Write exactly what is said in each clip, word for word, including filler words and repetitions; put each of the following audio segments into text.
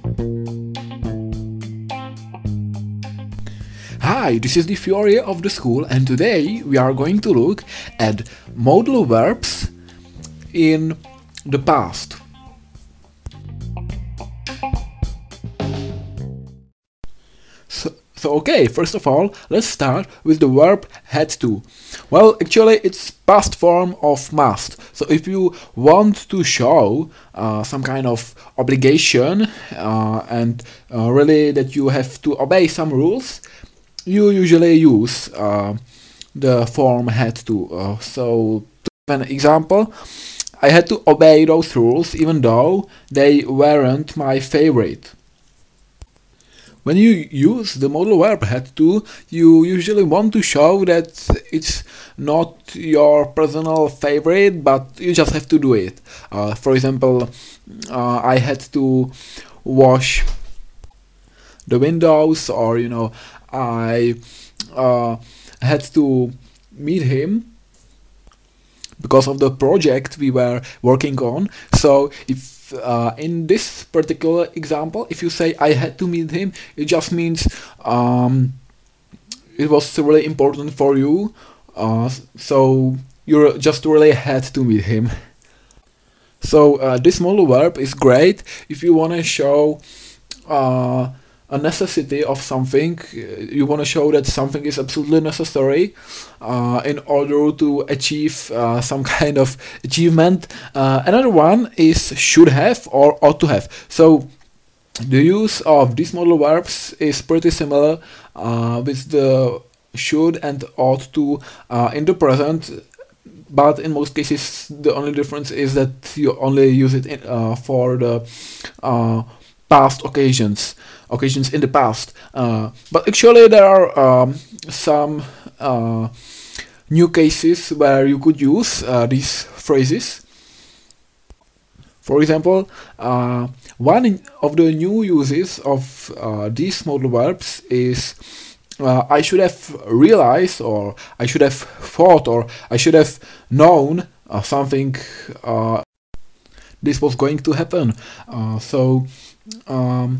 Hi, this is the Fury of the School, and today we are going to look at modal verbs in the past. So, so okay, first of all, let's start with the verb had to. Well, actually it's past form of must. So if you want to show uh, some kind of obligation uh, and uh, really that you have to obey some rules, you usually use uh, the form had to. Uh, so to give an example, I had to obey those rules even though they weren't my favorite. When you use the modal verb had to, you usually want to show that it's not your personal favorite, but you just have to do it. Uh, for example, uh, I had to wash the windows, or you know, I uh, had to meet him because of the project we were working on. So if uh, in this particular example, if you say I had to meet him, it just means um, it was really important for you, uh, so you just really had to meet him. So uh, this modal verb is great if you want to show uh, a necessity of something. You want to show that something is absolutely necessary uh, in order to achieve uh, some kind of achievement. Uh, another one is should have or ought to have. So the use of these modal verbs is pretty similar uh, with the should and ought to uh, in the present, but in most cases the only difference is that you only use it in, uh, for the uh, past occasions. occasions in the past. Uh, but actually there are um, some uh, new cases where you could use uh, these phrases. For example, uh, one of the new uses of uh, these modal verbs is uh, I should have realized, or I should have thought, or I should have known uh, something uh, this was going to happen. Uh, so um,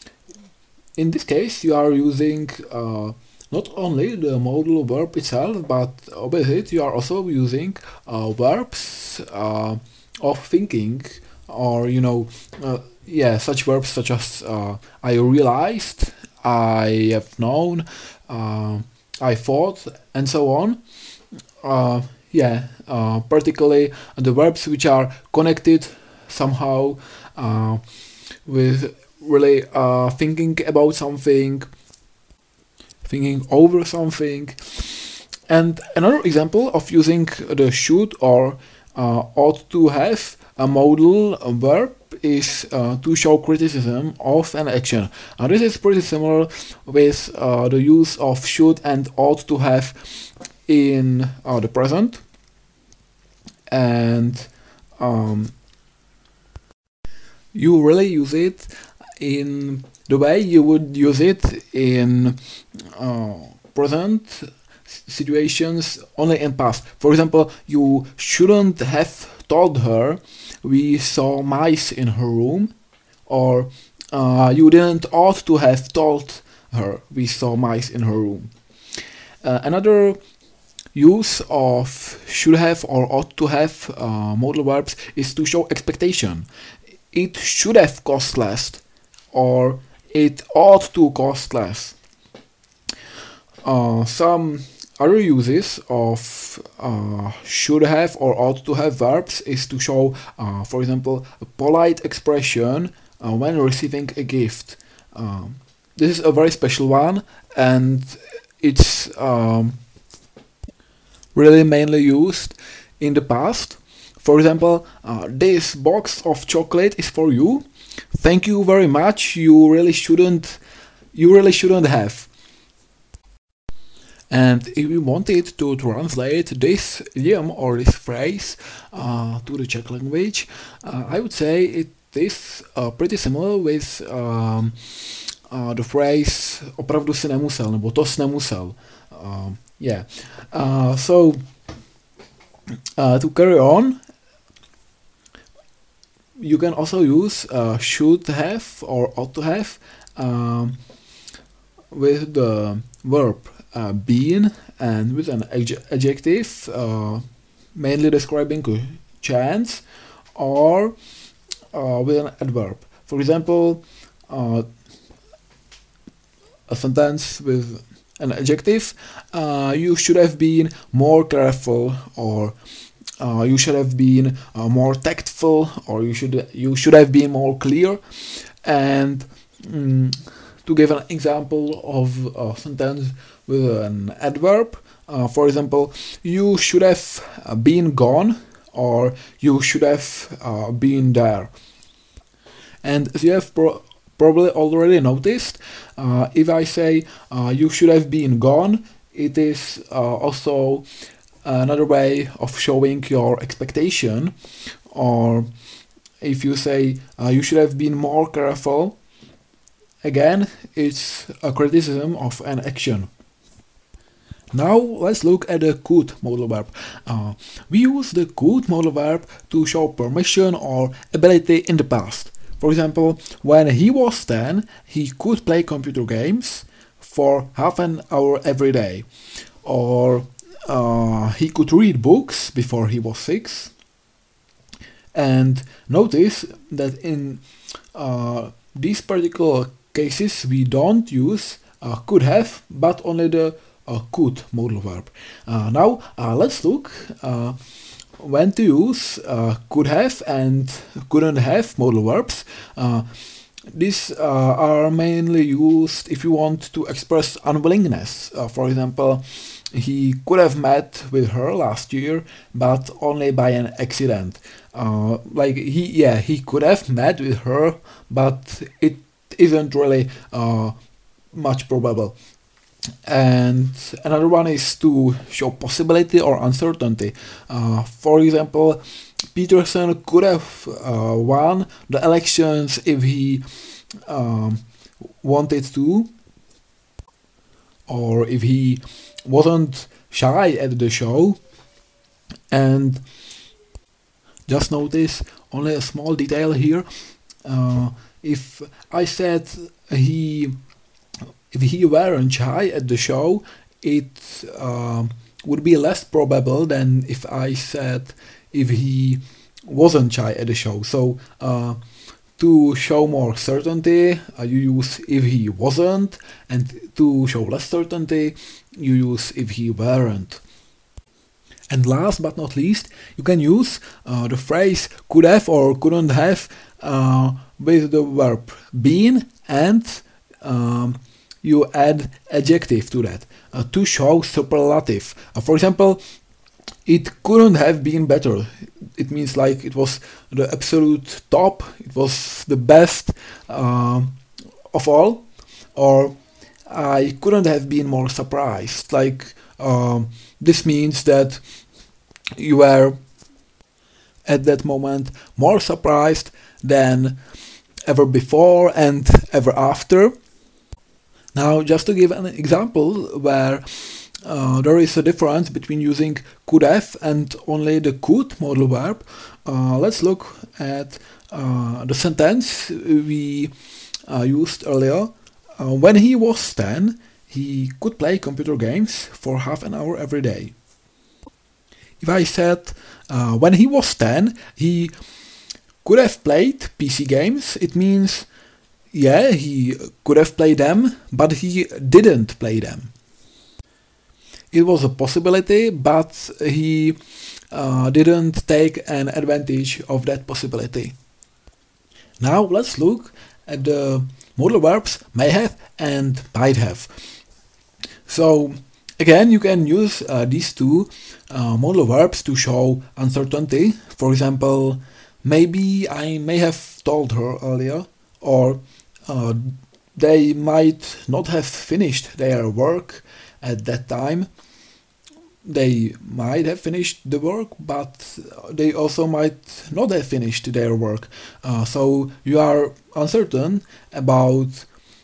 in this case, you are using uh, not only the modal verb itself, but with it you are also using uh, verbs uh, of thinking, or you know, uh, yeah, such verbs such as uh, I realized, I have known, uh, I thought, and so on. Uh, yeah, uh, particularly the verbs which are connected somehow uh, with really uh, thinking about something, thinking over something. And another example of using the should or uh, ought to have a modal verb is uh, to show criticism of an action. Now this is pretty similar with uh, the use of should and ought to have in uh, the present. And um, you really use it in the way you would use it in uh, present situations, only in past. For example, you shouldn't have told her we saw mice in her room, or uh, you didn't ought to have told her we saw mice in her room. Uh, another use of should have or ought to have uh, modal verbs is to show expectation. It should have cost less, or it ought to cost less. Uh, some other uses of uh, should have or ought to have verbs is to show, uh, for example, a polite expression uh, when receiving a gift. Um, this is a very special one, and it's um, really mainly used in the past. For example, uh, this box of chocolate is for you. Thank you very much. You really shouldn't. You really shouldn't have. And if we wanted to translate this idiom or this phrase uh, to the Czech language, uh, I would say it is uh, pretty similar with um, uh, the phrase opravdu si nemusel, nebo to jsi nemusel. Uh, yeah. Uh, so uh, to carry on, you can also use uh, should have or ought to have um, with the verb uh, been and with an adj adjective uh, mainly describing a chance, or uh, with an adverb. For example, uh, a sentence with an adjective, uh, you should have been more careful, or uh, you should have been uh, more tactful, or you should you should have been more clear. And mm, to give an example of a sentence with an adverb, uh, for example, you should have been gone, or you should have uh, been there. And as you have pro probably already noticed, uh, if I say uh, you should have been gone, it is uh, also another way of showing your expectation. Or if you say uh, you should have been more careful, again, it's a criticism of an action. Now let's look at the could modal verb. Uh, we use the could modal verb to show permission or ability in the past. For example, when he was ten, he could play computer games for half an hour every day. Or uh, he could read books before he was six. And notice that in uh, these particular cases we don't use uh, could have, but only the uh, could modal verb. Uh, now uh, let's look uh, when to use uh, could have and couldn't have modal verbs. Uh, these uh, are mainly used if you want to express unwillingness. Uh, for example, he could have met with her last year, but only by an accident. Uh, like he, yeah, he could have met with her, but it isn't really uh, much probable. And another one is to show possibility or uncertainty. Uh, for example, Peterson could have uh, won the elections if he um, wanted to, or if he wasn't shy at the show. And just notice only a small detail here. Uh, if I said he if he weren't shy at the show, it uh, would be less probable than if I said if he wasn't shy at the show. So uh, to show more certainty, uh, you use if he wasn't, and to show less certainty, you use if he weren't. And last but not least, you can use uh, the phrase could have or couldn't have uh, with the verb been, and um, you add adjective to that uh, to show superlative. Uh, for example, it couldn't have been better. It means like it was the absolute top, it was the best uh, of all. Or I couldn't have been more surprised. Like um, this means that you were at that moment more surprised than ever before and ever after. Now, just to give an example where uh, there is a difference between using could have and only the could modal verb, uh, let's look at uh, the sentence we uh, used earlier. Uh, when he was ten, he could play computer games for half an hour every day. If I said uh, when he was ten, he could have played P C games, it means yeah, he could have played them, but he didn't play them. It was a possibility, but he uh, didn't take an advantage of that possibility. Now let's look at the modal verbs may have and might have. So again, you can use uh, these two uh, modal verbs to show uncertainty. For example, maybe I may have told her earlier, or Uh, they might not have finished their work at that time. They might have finished the work, but they also might not have finished their work. Uh, so you are uncertain about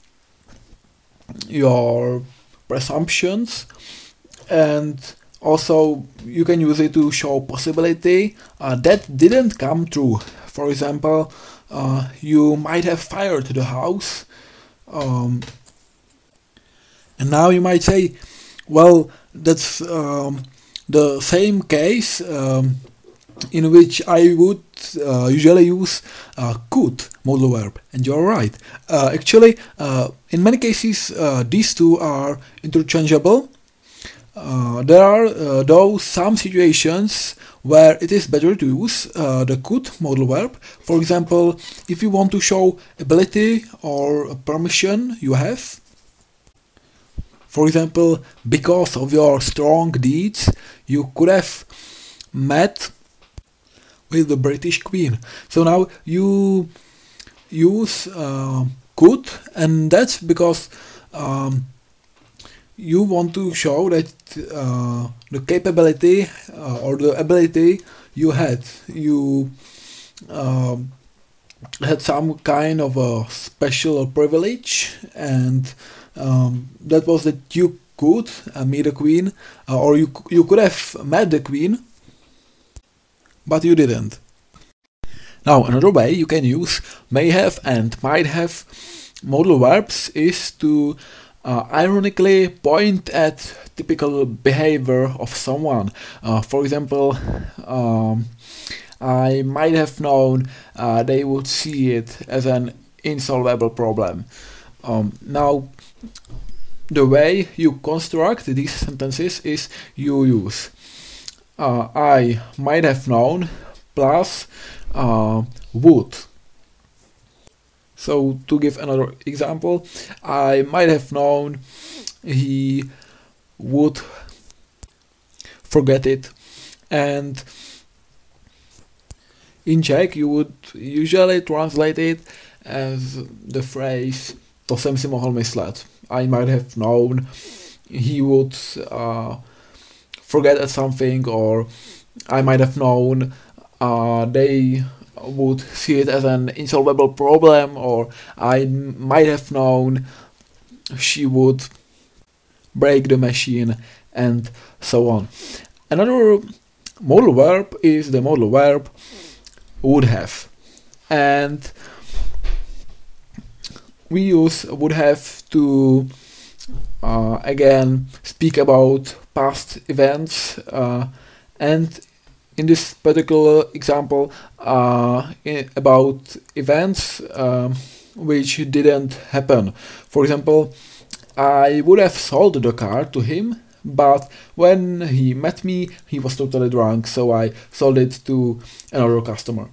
your presumptions, and also you can use it to show possibility uh, that didn't come true. For example, uh, you might have fire to the house, um, and now you might say, well, that's um, the same case um, in which I would uh, usually use uh, could modal verb, and you're right. Uh, actually, uh, in many cases, uh, these two are interchangeable. Uh, there are uh, though some situations where it is better to use uh, the could modal verb. For example, if you want to show ability or permission you have. For example, because of your strong deeds, you could have met with the British Queen. So now you use uh, could, and that's because um, you want to show that uh, the capability uh, or the ability you had, you um, had some kind of a special privilege, and um, that was that you could uh, meet the queen, uh, or you you could have met the queen, but you didn't. Now another way you can use may have and might have modal verbs is to Uh, ironically point at typical behavior of someone. Uh, for example, um, I might have known uh, they would see it as an insolvable problem. Um, now, the way you construct these sentences is you use uh, I might have known plus uh, would. So to give another example, I might have known he would forget it, and in Czech you would usually translate it as the phrase to jsem si mohl myslet. I might have known he would uh, forget at something, or I might have known uh, they would see it as an insolvable problem, or I might have known she would break the machine, and so on. Another modal verb is the modal verb would have, and we use would have to uh, again speak about past events, uh, and in this particular example, uh, in, about events um, which didn't happen. For example, I would have sold the car to him, but when he met me, he was totally drunk, so I sold it to another customer.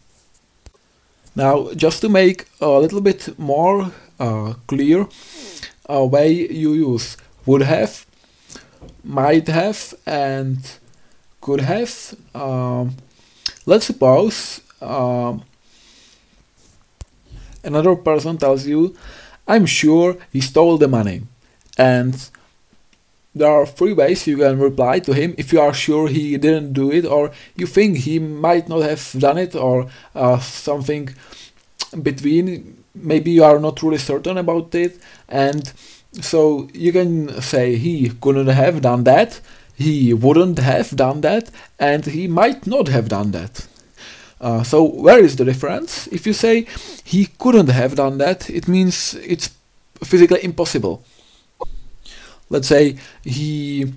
Now, just to make a little bit more uh, clear, a way you use would have, might have, and could have. Um, let's suppose um, another person tells you, I'm sure he stole the money, and there are three ways you can reply to him if you are sure he didn't do it, or you think he might not have done it, or uh, something between. Maybe you are not really certain about it, and so you can say he couldn't have done that, he wouldn't have done that, and he might not have done that. Uh, so where is the difference? If you say he couldn't have done that, it means it's physically impossible. Let's say he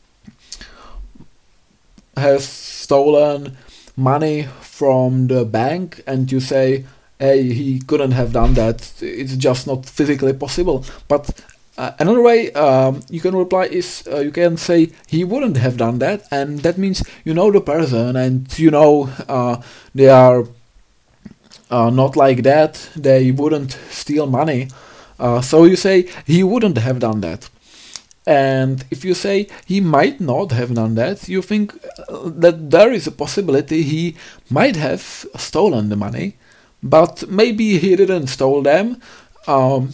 has stolen money from the bank, and you say, hey, he couldn't have done that, it's just not physically possible. But uh, another way um, you can reply is uh, you can say he wouldn't have done that, and that means you know the person, and you know uh, they are uh, not like that, they wouldn't steal money. Uh, so you say he wouldn't have done that. And if you say he might not have done that, you think that there is a possibility he might have stolen the money, but maybe he didn't steal them. Um,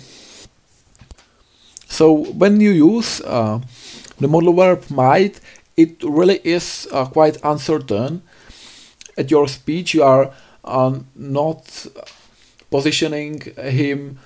so when you use uh, the modal verb might, it really is uh, quite uncertain. At your speech you are uh, not positioning him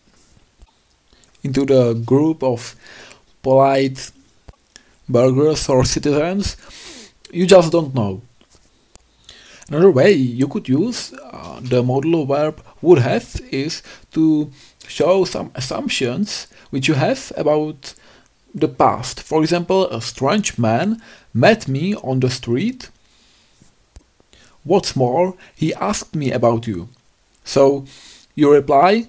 into the group of polite burghers or citizens, you just don't know. Another way you could use uh, the modular verb would have is to show some assumptions which you have about the past. For example, a strange man met me on the street. What's more, he asked me about you. So you reply,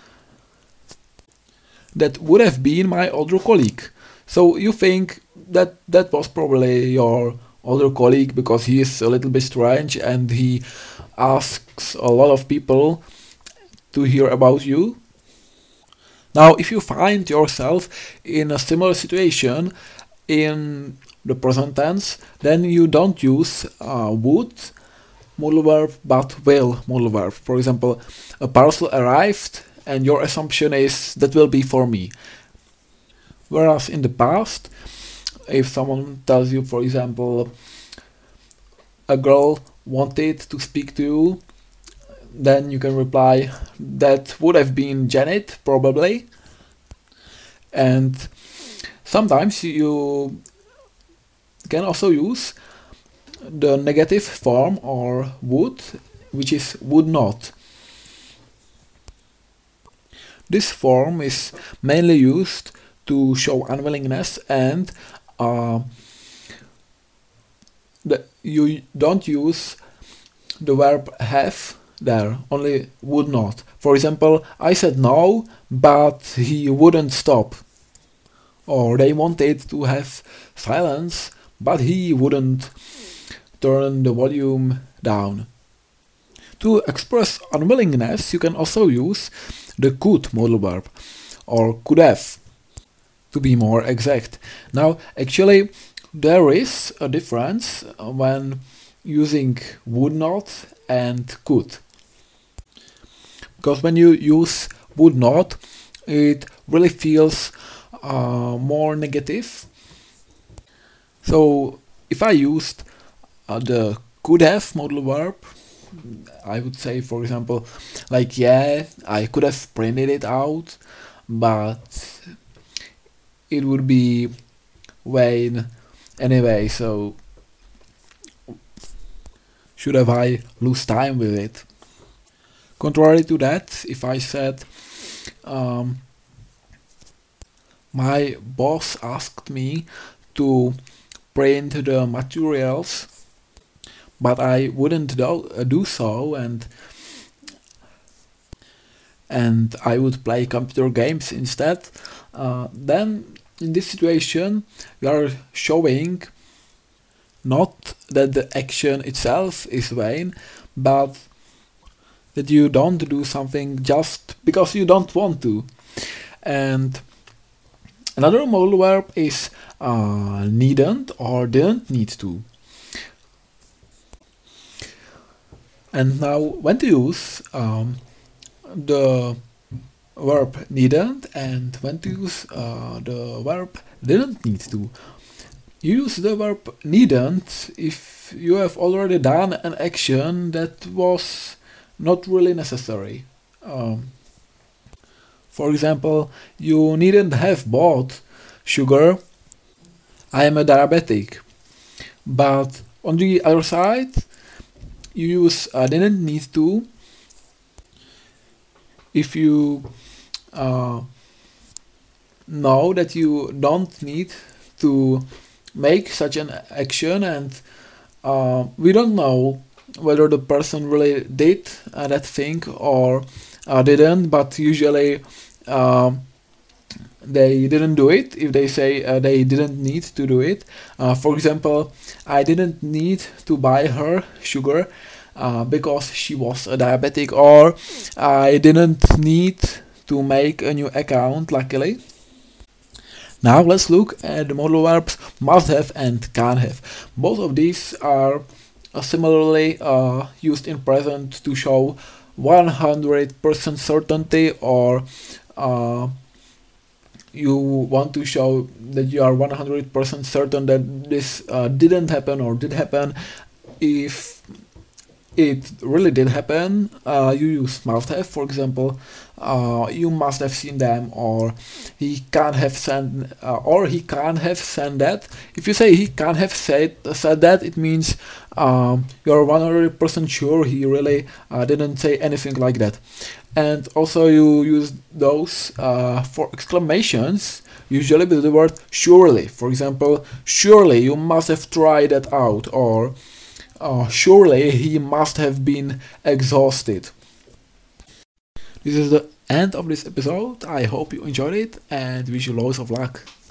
that would have been my older colleague. So you think that that was probably your older colleague because he is a little bit strange and he asks a lot of people to hear about you. Now, if you find yourself in a similar situation in the present tense, then you don't use uh, would modal verb but will modal verb. For example, a parcel arrived and your assumption is that will be for me. Whereas in the past, if someone tells you, for example, a girl wanted to speak to you, then you can reply, that would have been Janet, probably. And sometimes you can also use the negative form or would, which is would not. This form is mainly used to show unwillingness and uh, the, you don't use the verb have there, only would not. For example, I said no, but he wouldn't stop. Or they wanted to have silence, but he wouldn't turn the volume down. To express unwillingness, you can also use the could modal verb, or could have, to be more exact. Now, actually, there is a difference when using would not and could. Because when you use would not, it really feels uh, more negative. So, if I used uh, the could have modal verb, I would say, for example, like, yeah, I could have printed it out, but it would be vain anyway, so should have I lose time with it. Contrary to that, if I said, um, my boss asked me to print the materials, but I wouldn't do, uh, do so, and and I would play computer games instead, uh, then in this situation we are showing not that the action itself is vain, but that you don't do something just because you don't want to. And another modal verb is uh, needn't or didn't need to. And now when to use um, the verb needn't and when to use uh, the verb didn't need to. You use the verb needn't if you have already done an action that was not really necessary. Um, for example, you needn't have bought sugar. I am a diabetic. But on the other side, you use uh, didn't need to if you uh, know that you don't need to make such an action, and uh, we don't know whether the person really did uh, that thing or uh, didn't, but usually uh, they didn't do it if they say uh, they didn't need to do it. Uh, for example, I didn't need to buy her sugar uh, because she was a diabetic, or I didn't need to make a new account, luckily. Now let's look at the modal verbs must have and can have. Both of these are uh, similarly uh, used in present to show one hundred percent certainty, or uh, you want to show that you are one hundred percent certain that this uh, didn't happen or did happen if it really did happen, uh, you use must have. For example, uh, you must have seen them, or he can't have sent, uh, or he can't have sent that. If you say he can't have said said that, it means um, you're one hundred percent sure he really uh, didn't say anything like that. And also you use those uh, for exclamations, usually with the word surely. For example, surely you must have tried that out, or uh, surely he must have been exhausted. This is the end of this episode. I hope you enjoyed it and wish you loads of luck.